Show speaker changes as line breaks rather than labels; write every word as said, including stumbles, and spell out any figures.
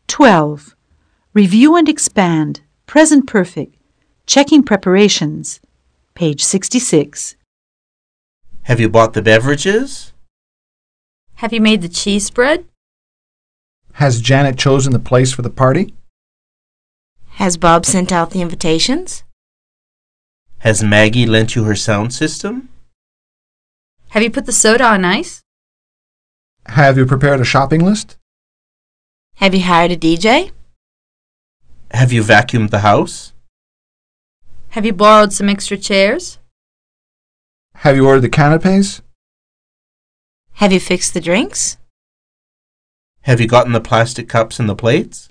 twelve. Review and expand. Present perfect. Checking preparations. Page sixty-six.
Have you bought the beverages?
Have you made the cheese spread?
Has Janet chosen the place for the party?
Has Bob sent out the invitations?
Has Maggie lent you her sound system?
Have you put the soda on ice?
Have you prepared a shopping list?
Have you hired a D J?
Have you vacuumed the house?
Have you borrowed some extra chairs?
Have you ordered the canapes?
Have you fixed the drinks?
Have you gotten the plastic cups and the plates?